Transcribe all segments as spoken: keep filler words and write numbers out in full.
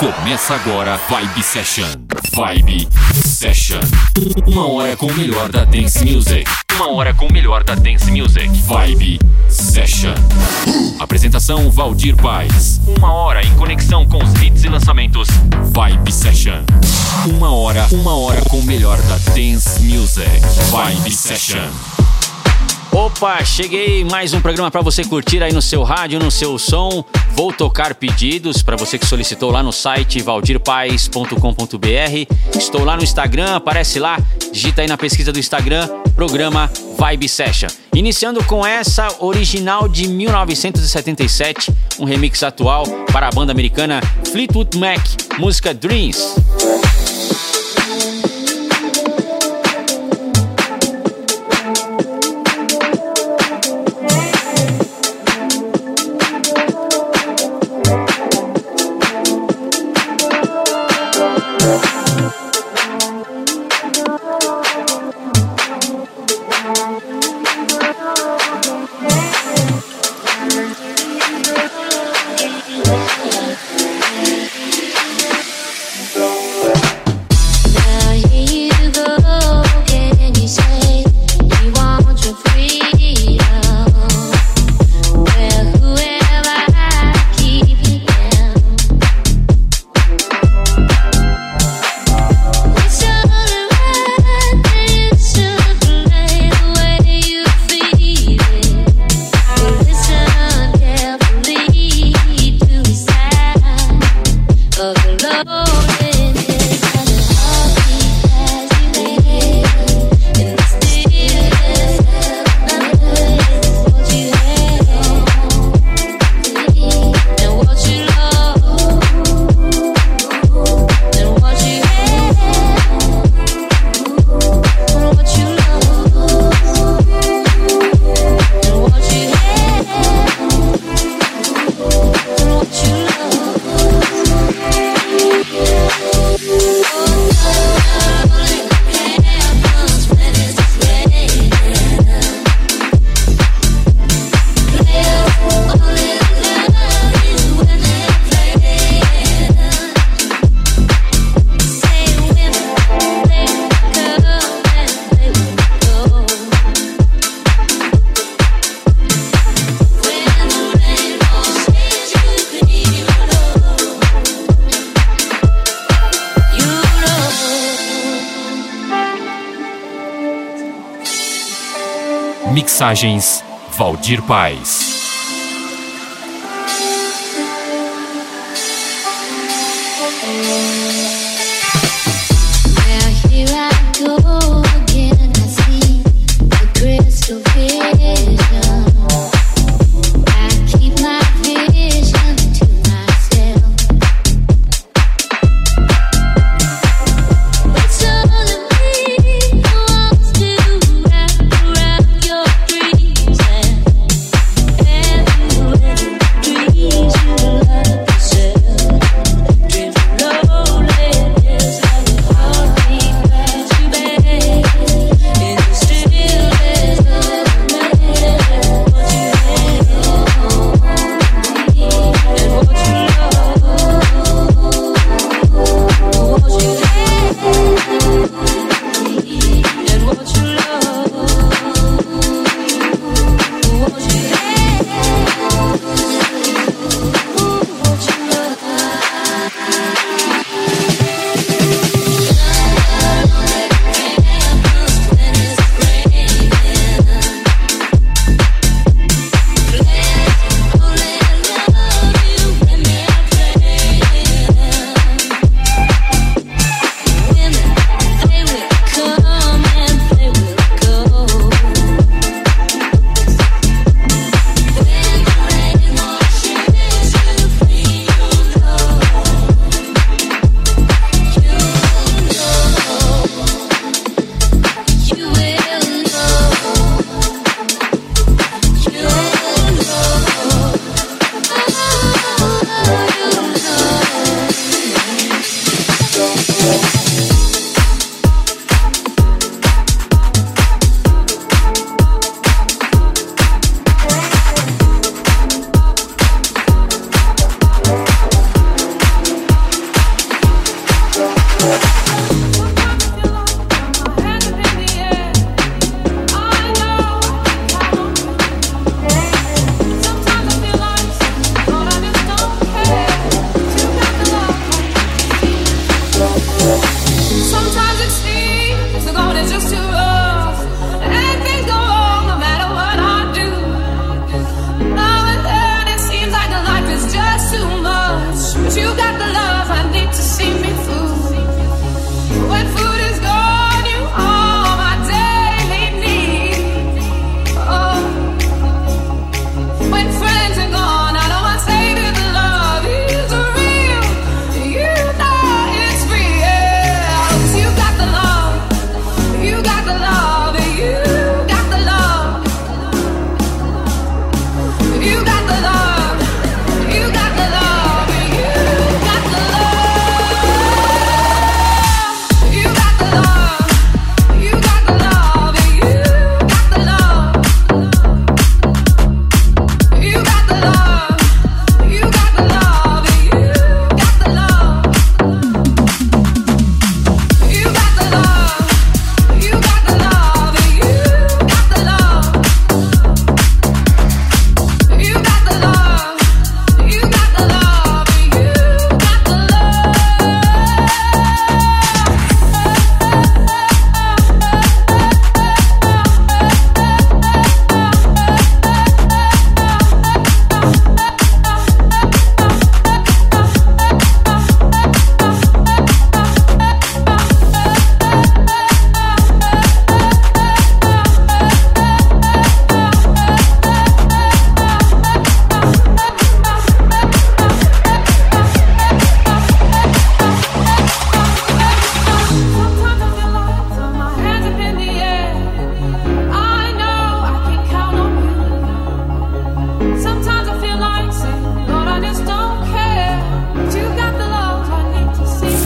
Começa agora Vibe Session. Vibe Session. Uma hora com o melhor da Dance Music. Uma hora com o melhor da Dance Music. Vibe Session. Apresentação Valdir Paes. Uma hora em conexão com os hits e lançamentos. Vibe Session. Uma hora, uma hora com o melhor da Dance Music. Vibe Session. Opa, cheguei, mais um programa para você curtir aí no seu rádio, no seu som. Vou tocar pedidos para você que solicitou lá no site valdir paes ponto com ponto b r. Estou lá no Instagram, aparece lá, digita aí na pesquisa do Instagram, programa Vibe Session. Iniciando com essa original de mil novecentos e setenta e sete, um remix atual para a banda americana Fleetwood Mac, música Dreams. Mixagens Valdir Paes. Dreams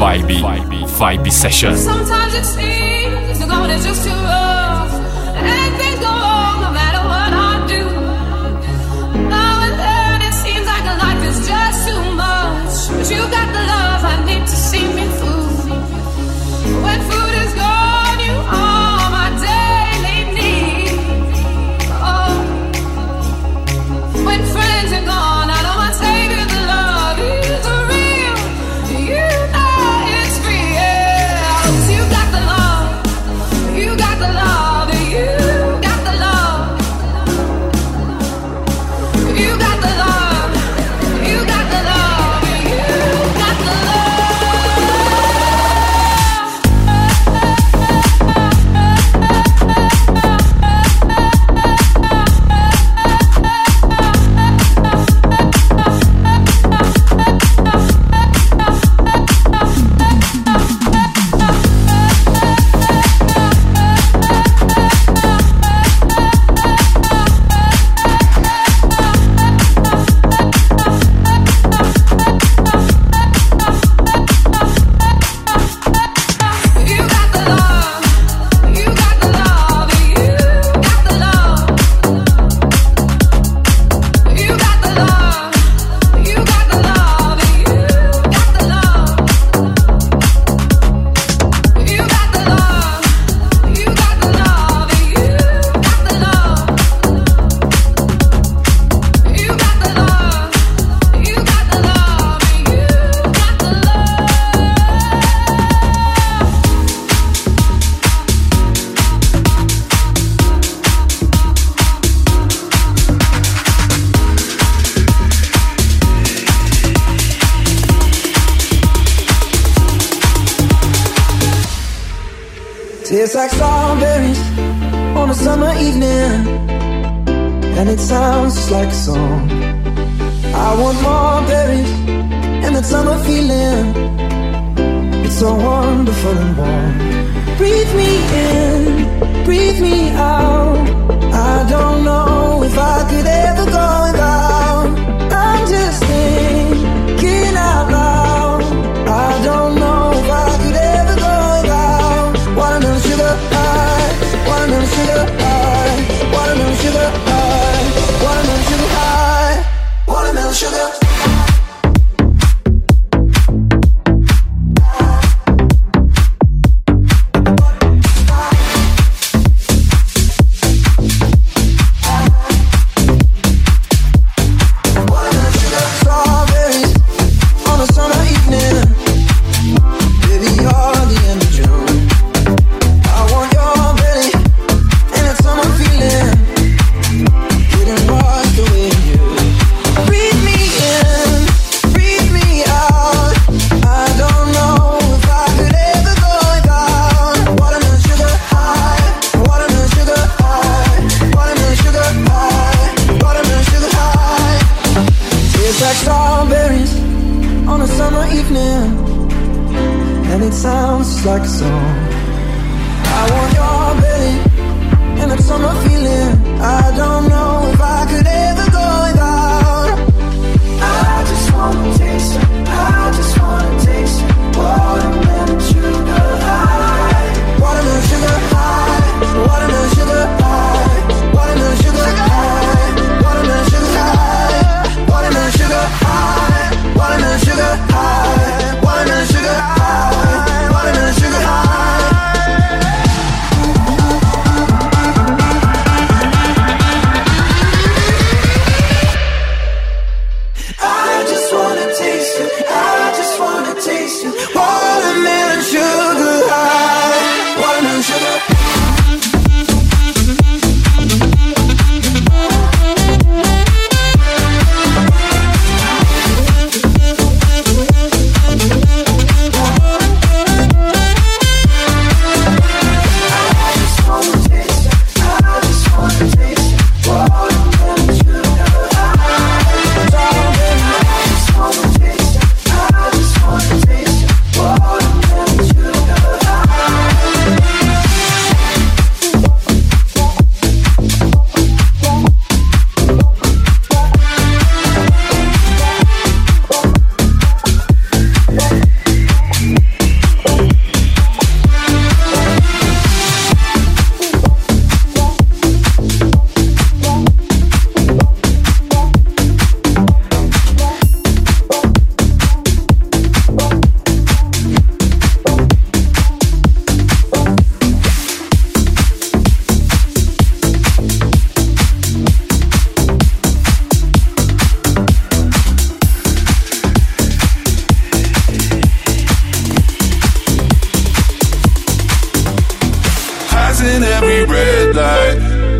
Vibe, Vibe, Vibe Session. Sometimes it seems the going is just too rough, and things go wrong no matter what I do. Now and then it seems like a life is just too much, but you got the love I need to see me through. When food is gone, you are my daily need. Oh, when friends are gone, I know my savior, the love is real. You know it's free, yeah. 'Cause you got the love, you got the love, you got the love, you got the love, you got the love, you got the love. Tastes like strawberries on a summer evening, and it sounds just like a song. I want more berries and that summer feeling. It's so wonderful and warm. Breathe me in, breathe me out. I don't know if I could ever go without. I'm just thinking out loud. I don't know if I could ever go without. Watermelon sugar high, watermelon sugar high, watermelon sugar high, watermelon sugar high, watermelon sugar. red light.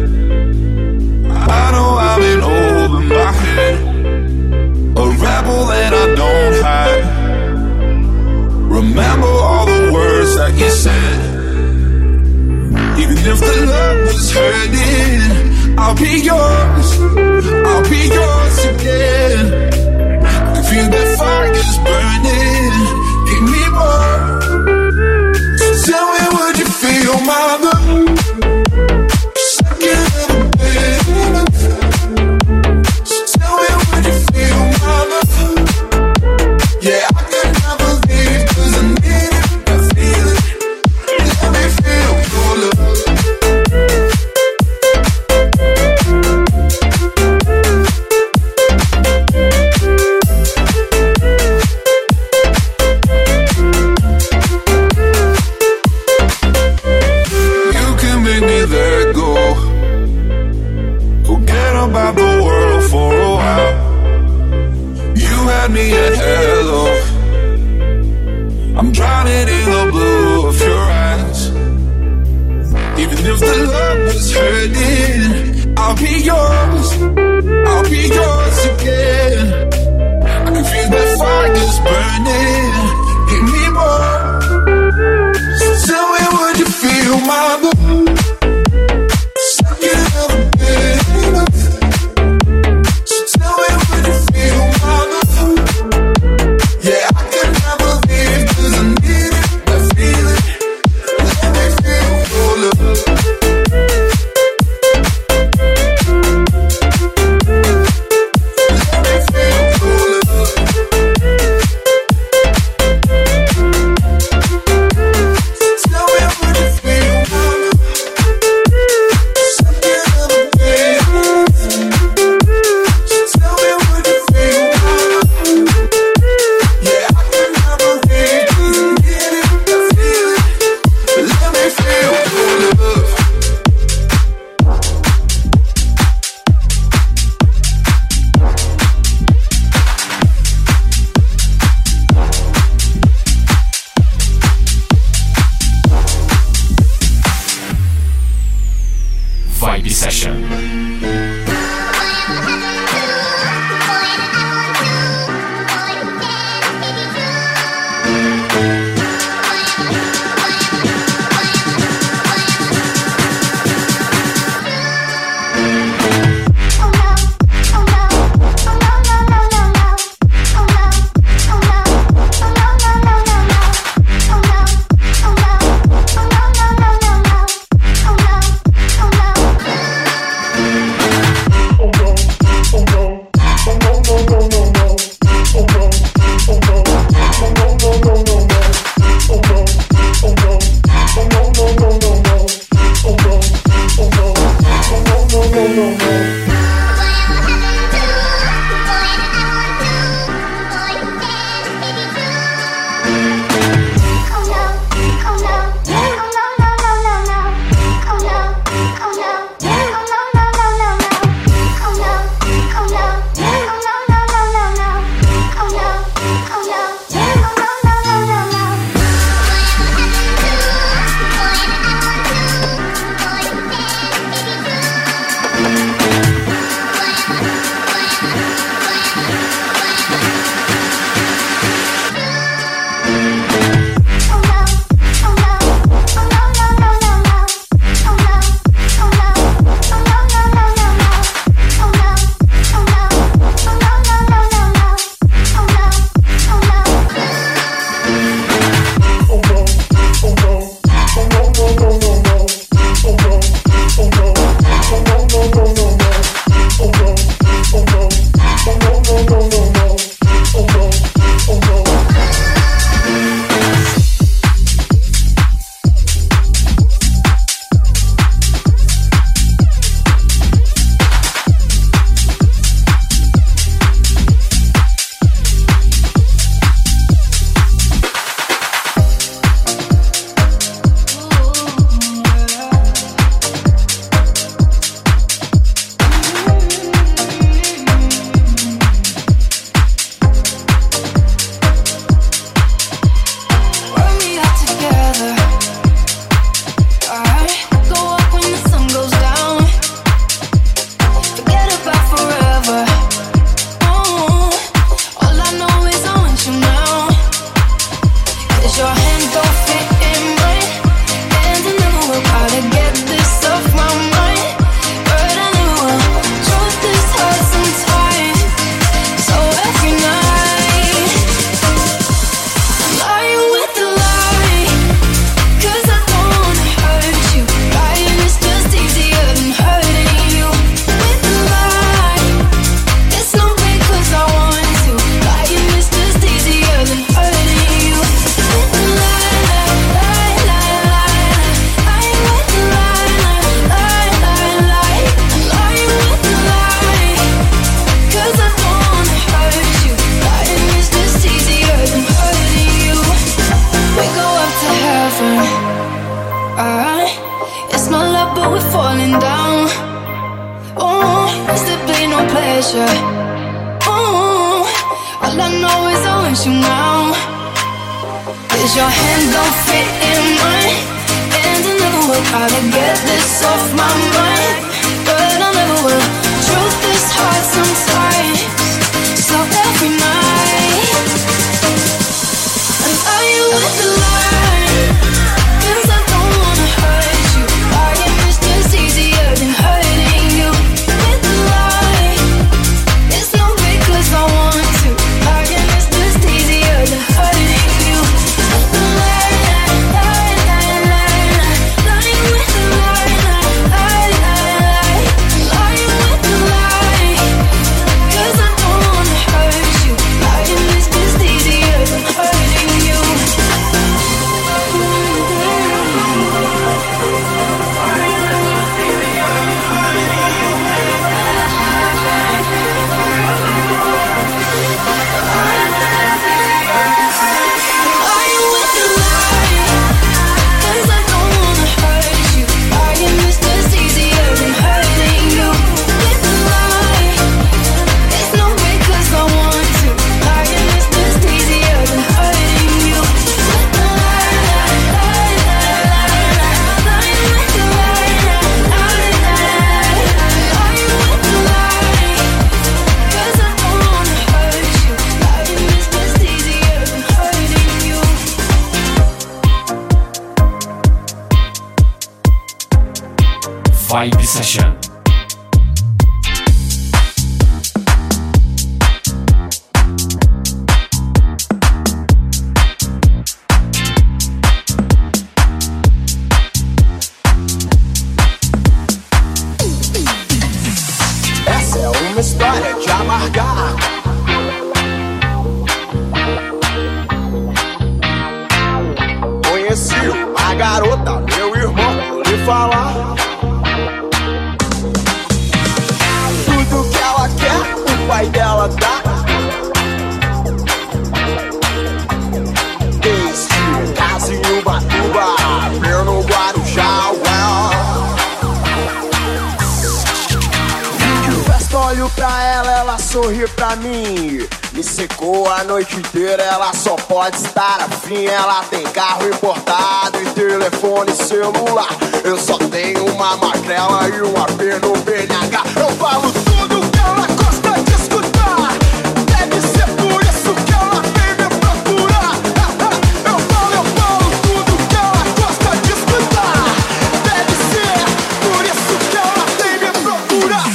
I know I'm in over my head, a rebel that I don't hide. Remember all the words that you said. Even if the love was hurting, I'll be yours, I'll be yours again. I can feel that fire's burning, give me more. So tell me, would you feel my love? Second of a bed. So tell me, would you feel my love? Yeah, I could never leave, cause I need it, I feel it. Let me feel your love. About the world for a while. You had me at hello. I'm drowning in the blue of your eyes. Even if the love was hurting, I'll be yours, I'll be yours again. I can feel that fire's burning, give me more. So tell me, would you feel my love? Second of a bed. want you now. Cause your hands don't fit in mine, and I never will try to get this off my mind, but I never will. Truth is hard sometimes, so every night I lie you with the lie, cause I don't wanna hurt you. Lying is just easier than hurting you. With the lie, it's no way cause I want to. Lying is just easier than hurting you. With the lie, lie, lie, lie, lie. Lying with the lie, lie, lie, lie. Lying with the lie, cause I don't wanna hurt you. Lying is just easier than hurting you. Lying with the lie, cause I don't wanna hurt you. Lying is just easier than hurting you. With the lie, it's no way cause I want to. Lying is just easier than hurting you. With the lie, lie, lie, lie, lie. Lying with the lie, lie, lie, lie. Lying with the lie, cause I don't wanna hurt you. Lying is just easier than hurting you. Vibe Session. Essa é uma história de amargar. Conheci uma garota, meu irmão, vou lhe falar. Tudo que ela quer, o pai dela dá. Desde casa em Ubatuba, no Guarujá, well. Olho pra ela, ela sorri pra mim. Me secou a noite inteira, ela só pode estar afim. Ela tem carro importado e telefone celular. Eu só tenho uma magrela e um A P no B N H. Eu falo tudo que ela gosta de escutar. Deve ser por isso que ela vem me procurar. Eu falo, eu falo tudo que ela gosta de escutar. Deve ser por isso que ela vem me procurar.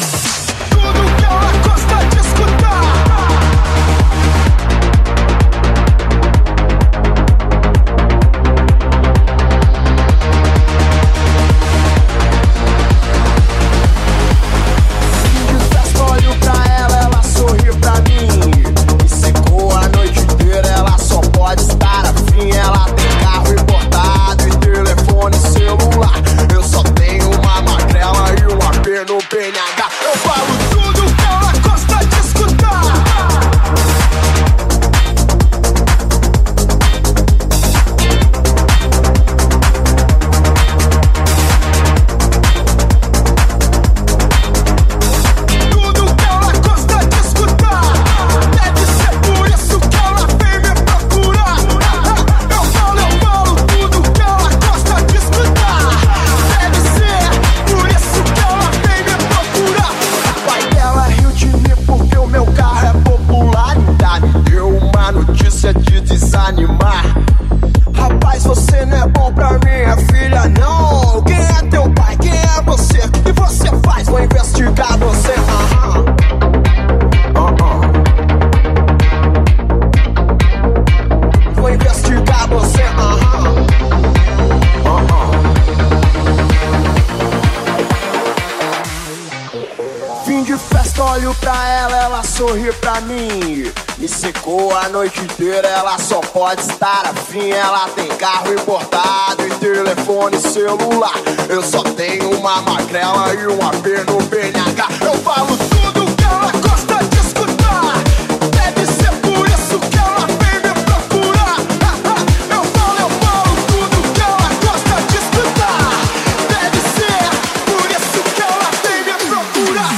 Sorri pra mim, me secou a noite inteira, ela só pode estar afim. Ela tem carro importado e telefone celular. Eu só tenho uma magrela e um A P no B N H. Eu falo tudo que ela gosta de escutar. Deve ser por isso que ela vem me procurar. Eu falo, eu falo tudo que ela gosta de escutar. Deve ser por isso que ela vem me procurar.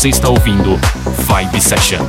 Você está ouvindo Vibe Session.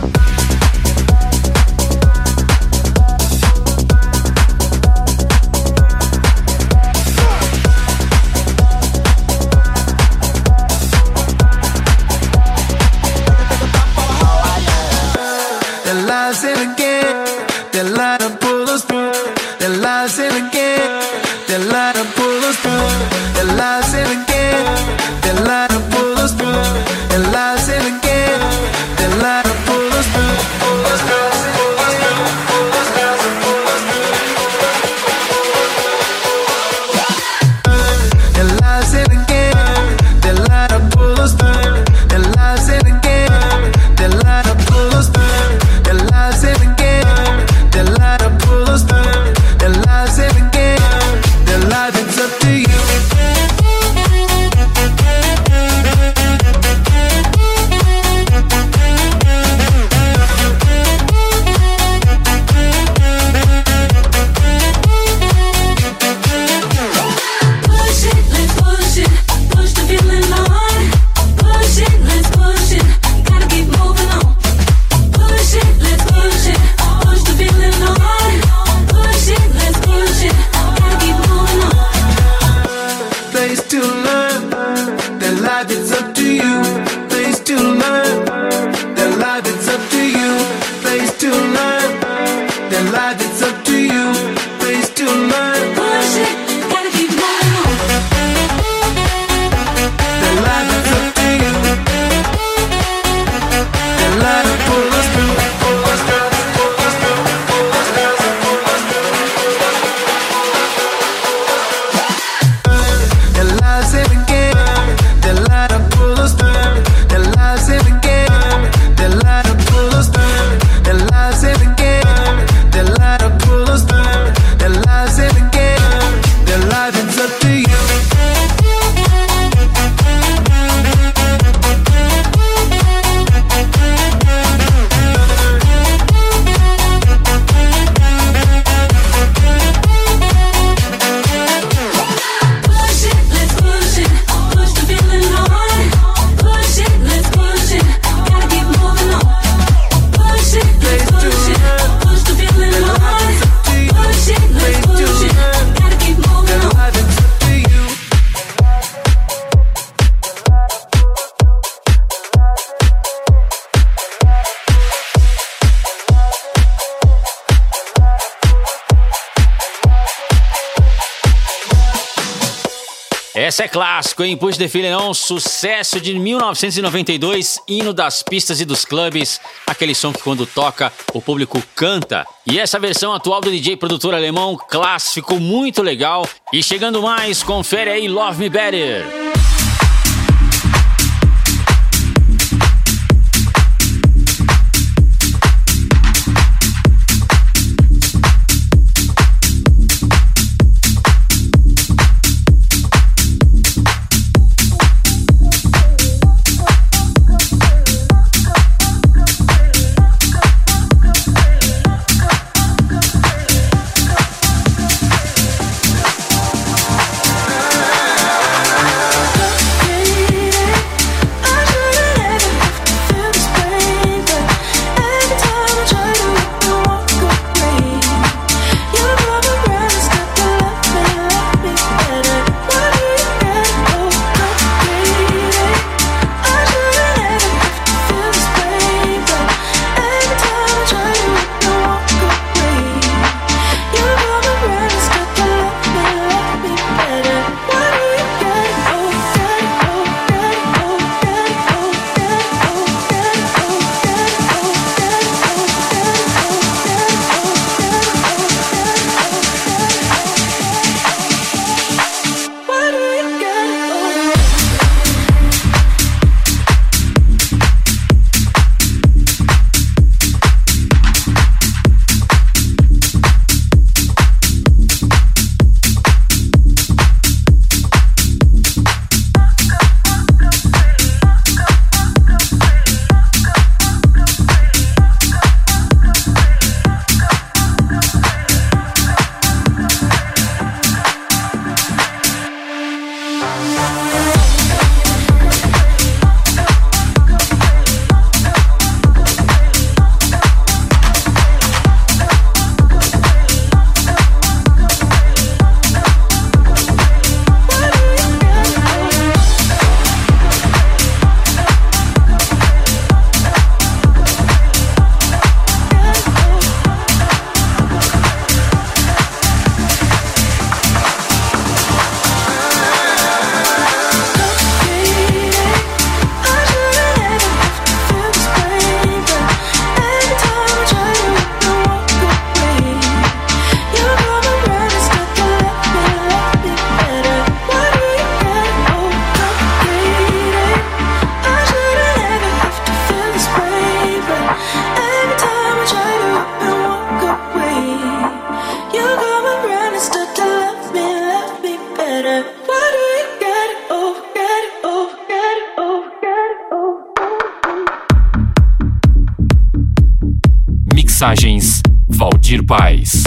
Essa é clássico, hein? Push the Feeling On, sucesso de mil novecentos e noventa e dois, hino das pistas e dos clubes, aquele som que quando toca o público canta. E essa versão atual do D J produtor alemão, clássico, muito legal. E chegando mais, confere aí Love Me Better. We'll be right back. mensagens, Valdir Paz.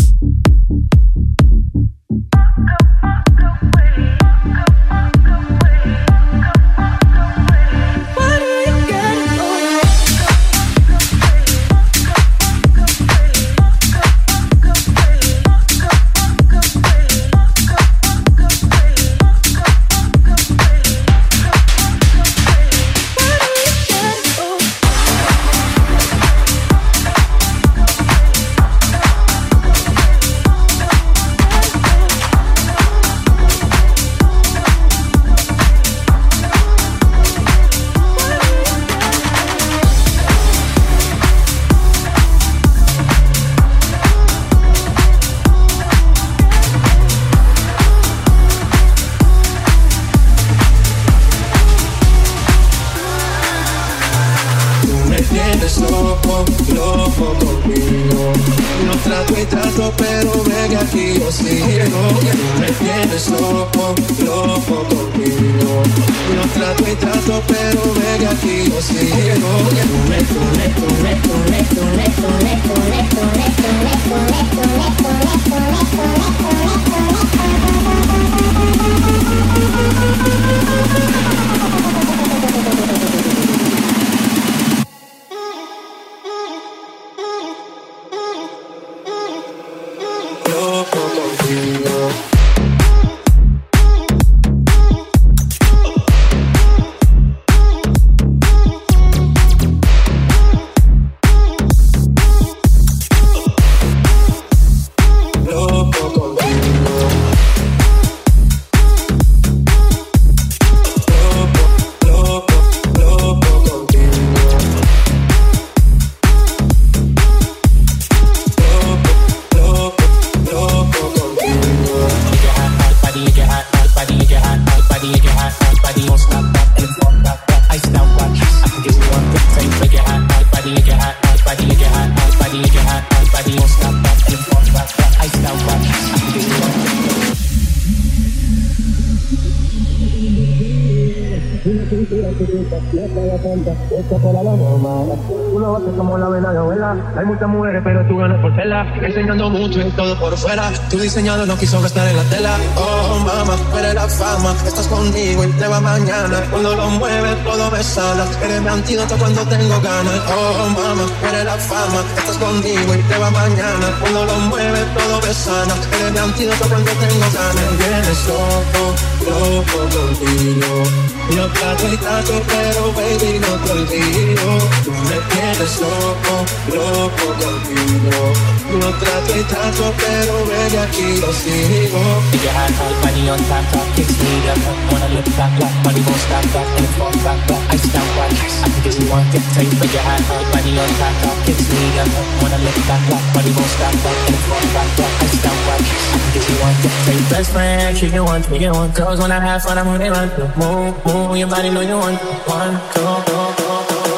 Hay muchas mujeres, pero tú ganas por tela. Enseñando mucho y todo por fuera. Tu diseñado no quiso gastar en la tela. Oh, mamá, tú eres la fama. Estás conmigo y te va mañana. Cuando lo mueves, todo me sana. Eres mi antídoto cuando tengo ganas. Oh, mamá, tú eres la fama. Estás conmigo y te va mañana. Cuando lo mueves, todo me sana. Eres mi antídoto cuando tengo ganas. Me vienes loco, loco contigo. Yo trato y trato, pero baby, no te olvido. Tú me tienes loco, loco contigo. Yo trato y trato, pero baby, aquí lo sigo. Take your hot, hot body on top, top, kicks me up. Wanna look back, back, body won't stop, back, and fall back, back. I stop, watch, I can get you one, get tight. Take your hot, hot body on top, top, kicks me up. Wanna look back, back, body won't stop, back, and fall back, back. I stop, watch, I can get you one, get tight. Best friend, she get one, we get one. Girls when I have fun, I'm on they run. Move, move, your body know you want one, go, go, go.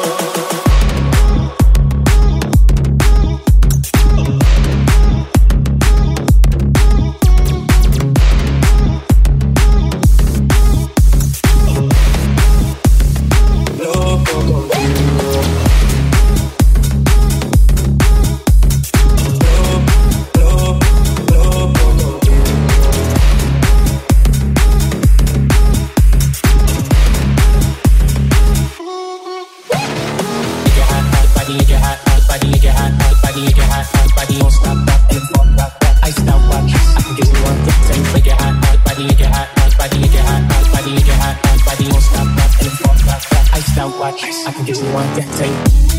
I can get you one, get tight.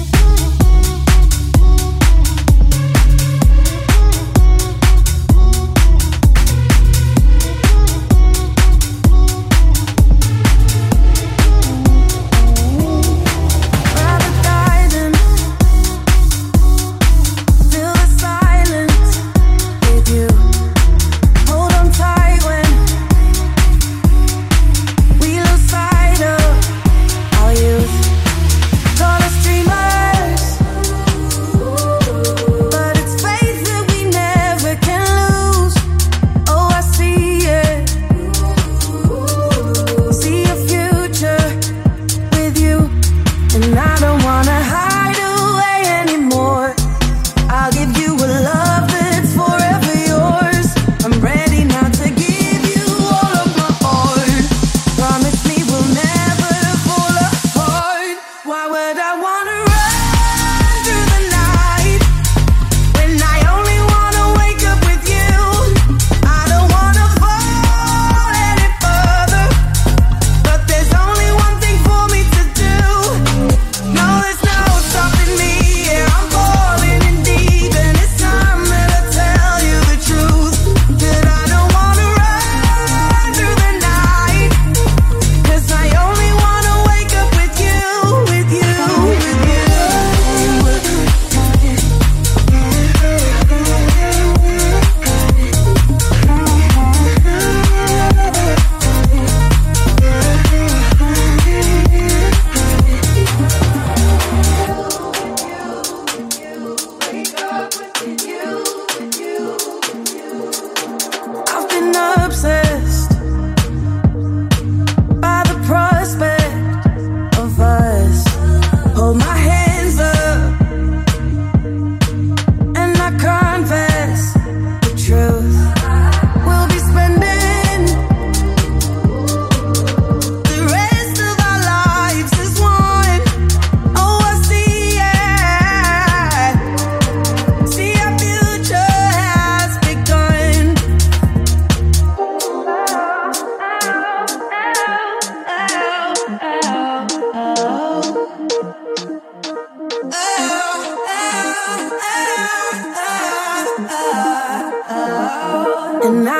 Stream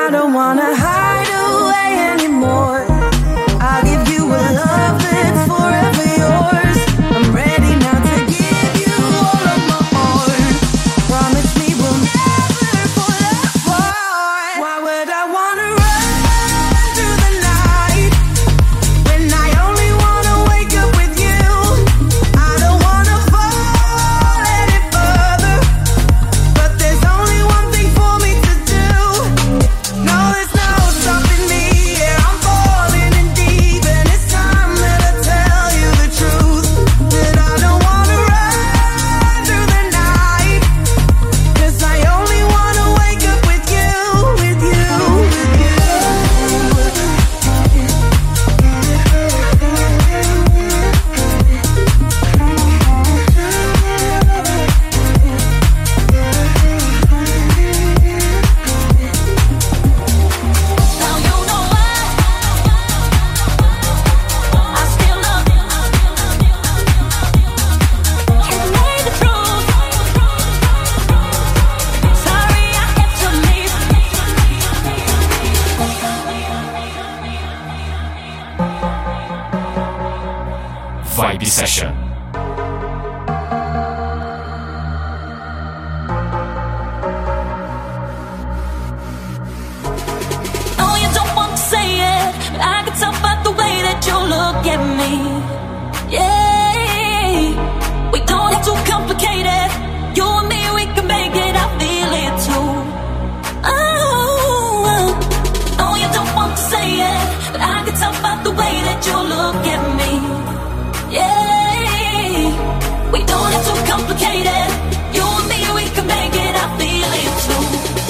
I don't wanna hide away anymore. I'll give you a love that's forever yours. I'm ready now to give you all of my heart. Promise me we'll never fall apart. Why would I wanna run through the night when I only wanna wake up with you? I don't wanna fall any further, but there's only one thing for me to do. No, there's no stopping me. Yeah, I'm falling in deep, and it's time that I tell you the truth. That I don't wanna run through the night, 'cause I only wanna wake up with you, with you, with you. Now you know why I still love you. Can't deny the truth. Sorry I had to leave. Vibe Session. Oh, you don't want to say it, but I can tell by the way that you look at me. Yeah, we don't have to complicate it. You and me, we can make it. I feel it too. Oh, oh, you don't want to say it, but I can tell by the way that you look at me. Yeah, we don't have to complicate it. You and me, we can make it. I feel it too.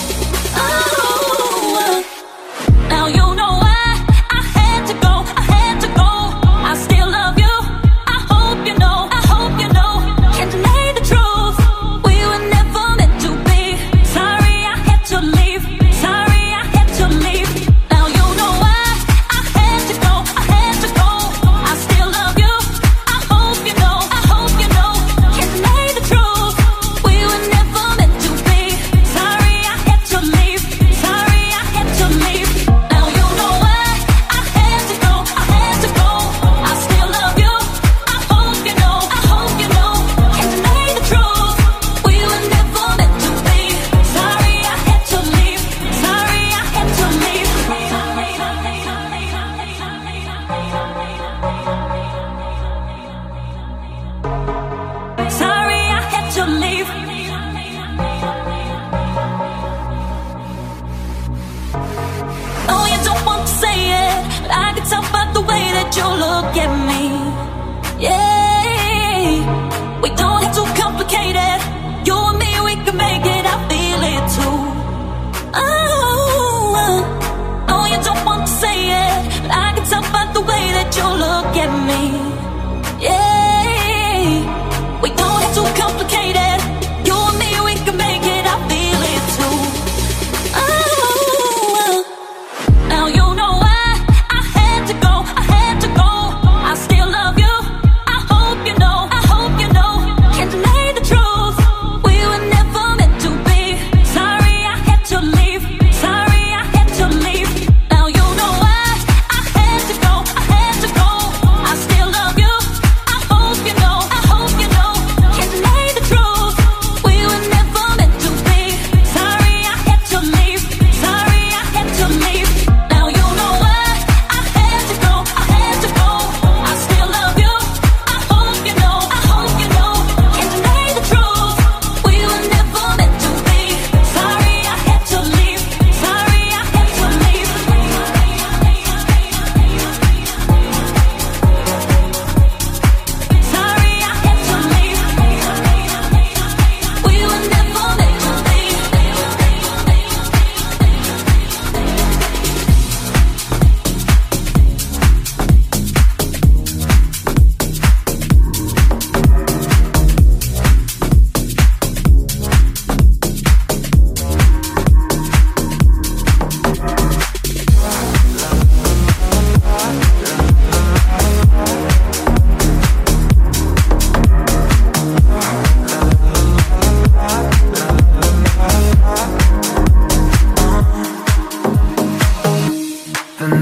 Oh, now you know why I had to go. I had to go. I still love you. I hope you know. I hope you know. Can't deny the truth. We were never meant to be. Sorry I had to leave. Sorry I had to leave. Now you know why I had to go. I had to go. I still love you. I hope you know. I hope you know. Can't deny the truth. We were never meant to be. Sorry I had to leave. Sorry I had to leave. Now you know why I had to go. I had to go. I still love you. I hope you know. I hope you know. Can't deny the truth. We were never meant to be. Sorry I had to leave. Sorry I had to leave. Sorry I had to leave. Oh, you don't want to say it, but I can tell by the way that you look at me. Yeah, we don't have to complicate it. You and me, we can make it. I feel it too. Oh, oh, you don't want to say it, but I can tell by the way that you look at me. Yeah, we don't have to complicate it. You and me, we can make it. I feel it too. Oh, now you know why I had to go. I had to go. I still love you. I hope you know. I hope you know. Can't deny the truth.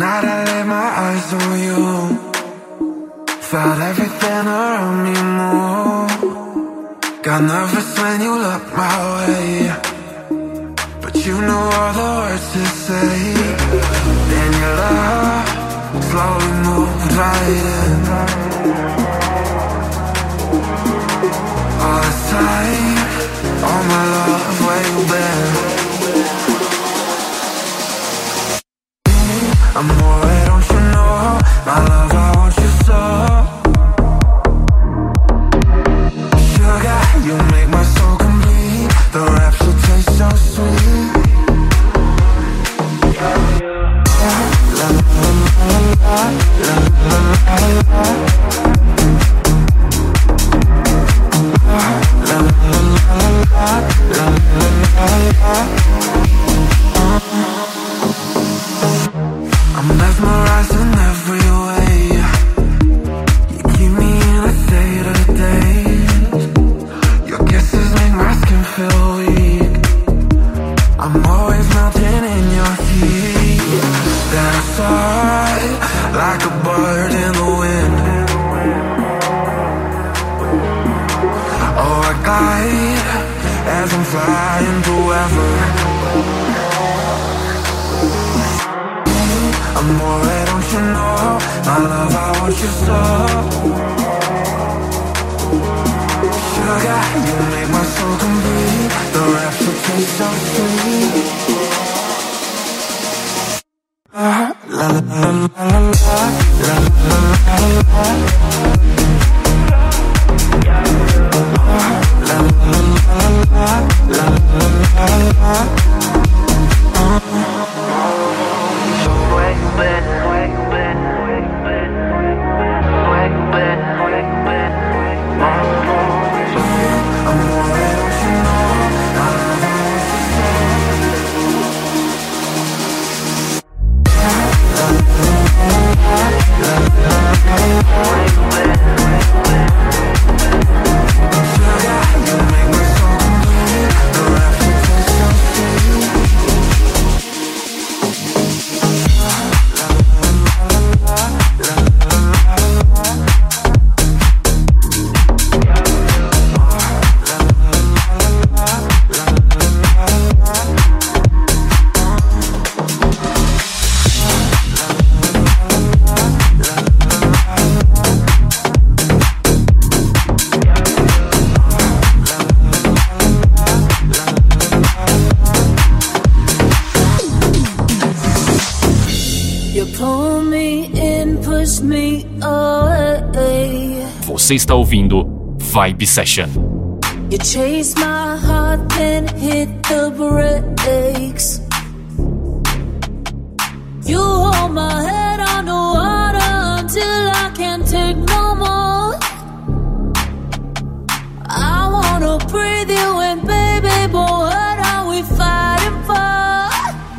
night I laid my eyes on you. Felt everything around me move. Got nervous when you looked my way, but you know all the words to say. Then your love slowly moved right in. All this time, all my love, where you been? Amore, don't you know, my love, I want you so. Sugar, you make my soul complete. The raps will taste so sweet. La la la la la la la. La la la la la la. I'm mesmerized in every way. You keep me in a state of daze. Your kisses make my skin feel weak. I'm always melting in your heat. Then I soar like a bird in the wind. Oh, I glide as I'm flying forever. Amore, don't you know, my love, I want you so. Sugar, you make my soul complete. The raps will taste so sweet. La la la la la la la la. La la la la la la. Where you been? Where you been? Where you been? Where you been? Where you been? I'm worried, don't you know? I love how you Sugar, you make my soul complete. The rap will taste so sweet. Você está ouvindo Vibe Session. You chase my heart, then hit the brakes. You hold my head underwater until I can't take no more. I wanna breathe you in, baby, but what are we fighting for?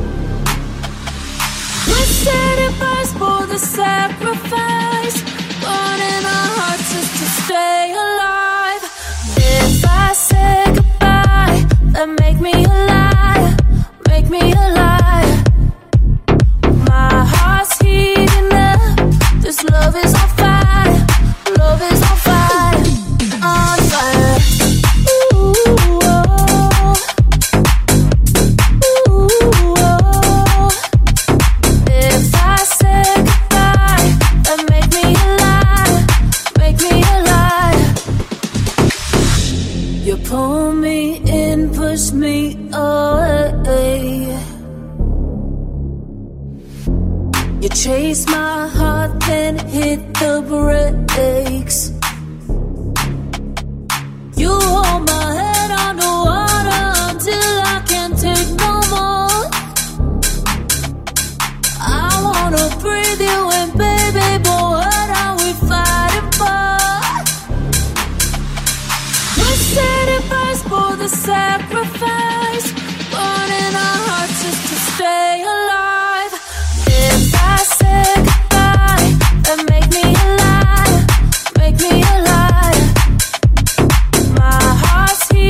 We're setting price for the sacrifice, burning our hearts just to stay alive. If I say goodbye, then make me a liar, make me a liar. My heart's heating up, this love is on fire, love is on fire, on fire. Ooh, oh. Ooh, oh. If I say goodbye, then make me a liar, make me a liar. You pull me in, push me away. You chase my heart, then hit the brakes. You hold my head underwater until I can't take no more. I wanna breathe you in, baby, but what are we fighting for? We're setting price for the sacrifice, burning our hearts just to stay alive. If I say goodbye, then make me a liar, make me a liar. My heart's here.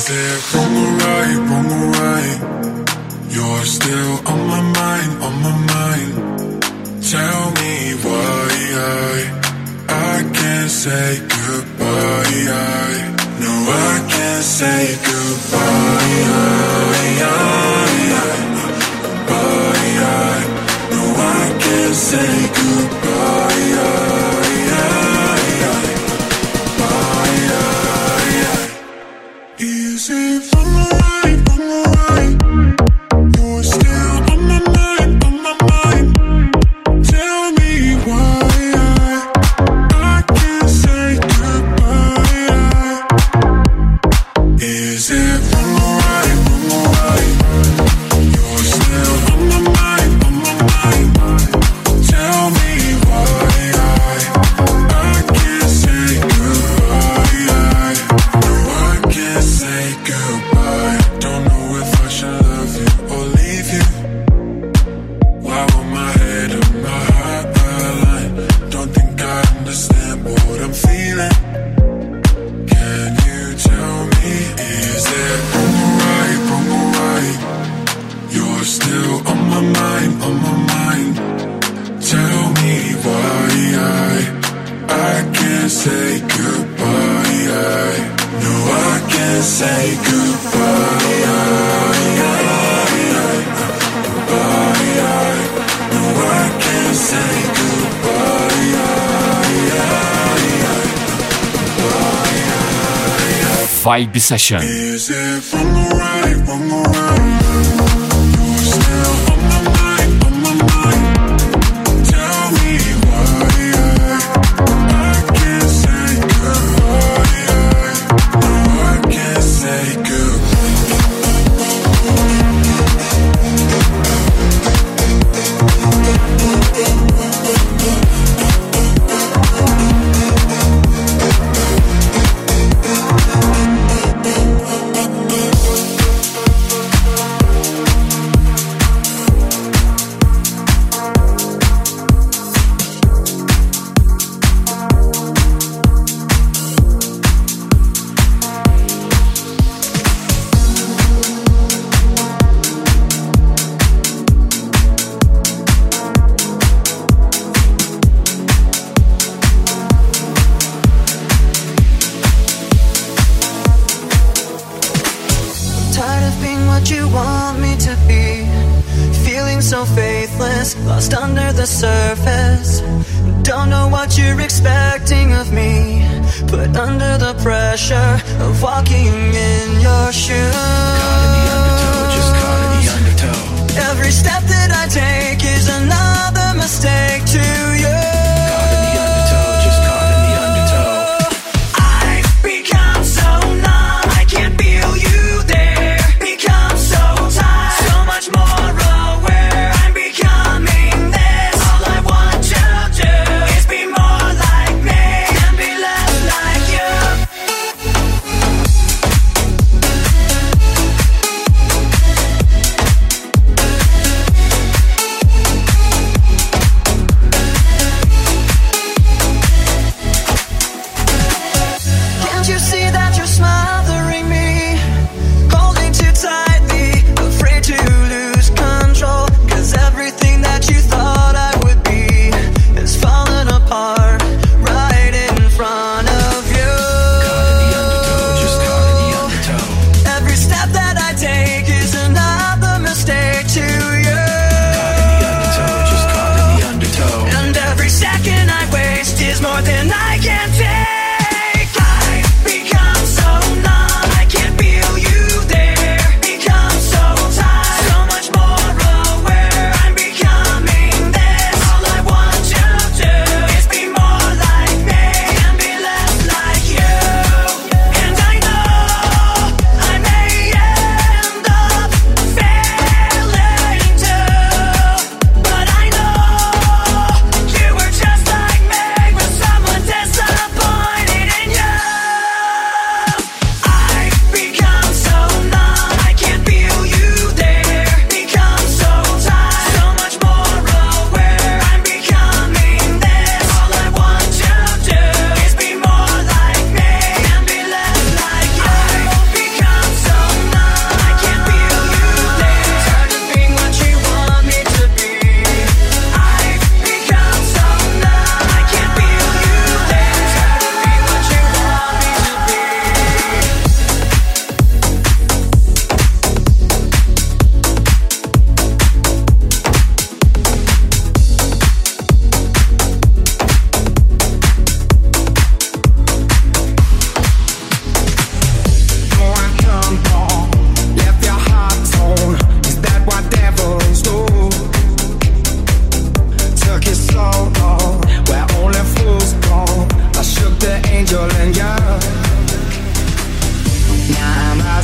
Is it wrong or right, wrong or right? You're still on my mind, on my mind. Tell me why I, I can't say goodbye. I, no, I can't say goodbye. I, I, I, bye, I, no, I can't say goodbye. I, I, I, bye, I, I. Is it wrong or right, wrong or right? You're still on my mind, on my mind. Tell me why I, I can't say goodbye. Is it wrong or right, wrong or right? You're still on my mind, on my mind. Tell me why I, I can't say goodbye. No, I can't say goodbye. Don't know if I should love you or leave you. Why will my head and my heart align? Don't think I understand what I'm feeling. Can you tell me, is it wrong or right, wrong or right? You're still on my mind, on my mind. Tell me why I, I can't say goodbye. I, no, I can't say goodbye. I, I, bye, I, no, I can't say goodbye. I, I, Vibe Session. is it wrong or right, wrong or right? You're still on my mind, on my mind. Tell me why I, I can't say goodbye. I, no, I can't say goodbye. Tired of being what you want me to be. Feeling so faithless, lost under the surface. Don't know what you're expecting of me. Put under the pressure of walking in your shoes. Caught in the undertow, just caught in the undertow. Every step that I take is another mistake to you. Caught in the undertow, just caught in the undertow. I've become so numb, I can't feel you there. Become so tired, so much more aware. I'm becoming this. All I want to do is be more like me and be less like you.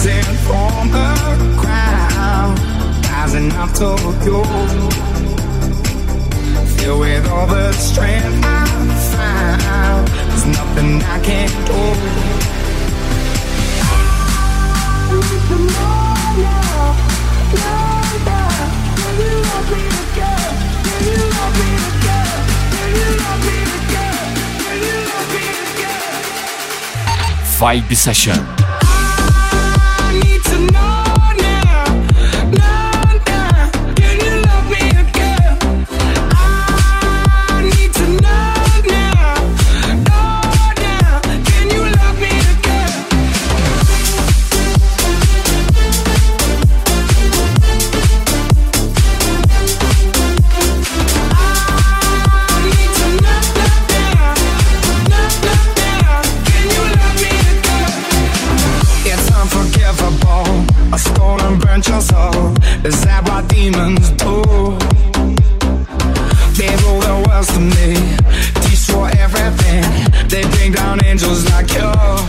rising from the ground, rising up Tokyo. Filled with all the strength I found, there's nothing I can't do. I need to know now, now, now. Can you love me again? Can you love me again? Can you love me again? Can you love me again? Vibe Session. I need to know now, now, now. Can you love me again? I need to know now, know now. Can you love me again? I need to know now, know now. Can you love me again? It's unforgivable. I stole and burnt your soul. Is that what demons do? They rule the world to me, destroy everything. They bring down angels like you.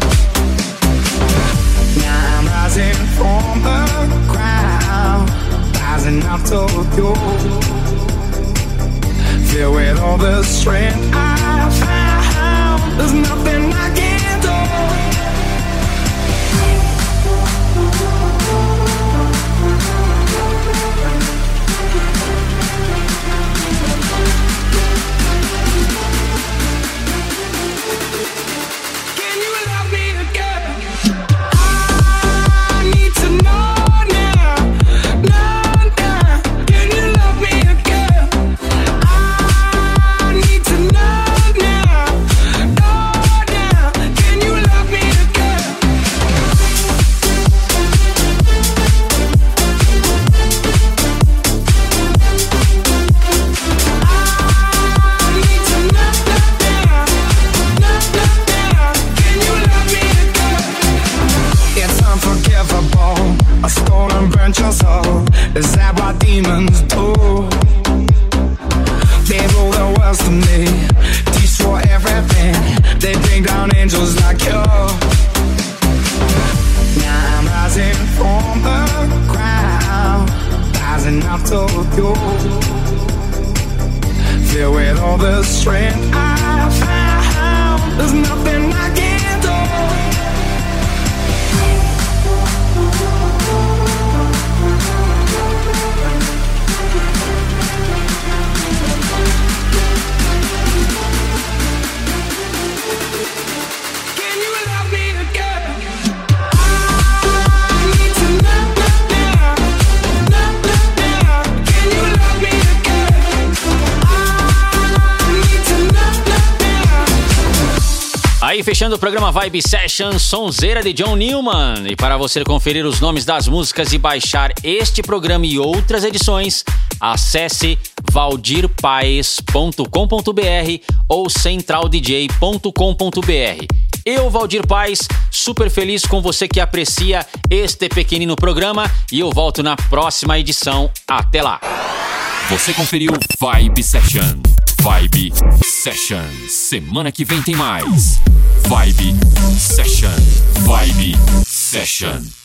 Now I'm rising from the ground, rising up to you. Filled with all the strength I found, there's nothing I can't do. Can you love me again? I need to know now, know now. Can you love me again? I need to know now, know now. Can you love me again? I need to know now, know now. Can you love me again? It's unforgivable. I stole and burnt your soul. Is that what demons do? They rule the world to me, destroy everything. They bring down angels like you. Now I'm rising from the ground, rising up to you. Filled with all the strength I found, there's nothing I can't do. Can you love me again? I need to know now, know now. Can you love me again? I need to know now. Aí fechando o programa Vibe Session, sonzeira de John Newman. E para você conferir os nomes das músicas e baixar este programa e outras edições, acesse valdir paes ponto com ponto b r ou central d j ponto com ponto b r. Eu, Valdir Paes, super feliz com você que aprecia este pequenino programa e eu volto na próxima edição. Até lá! Você conferiu Vibe Session. Vibe Session. Semana que vem tem mais. Vibe Session. Vibe Session.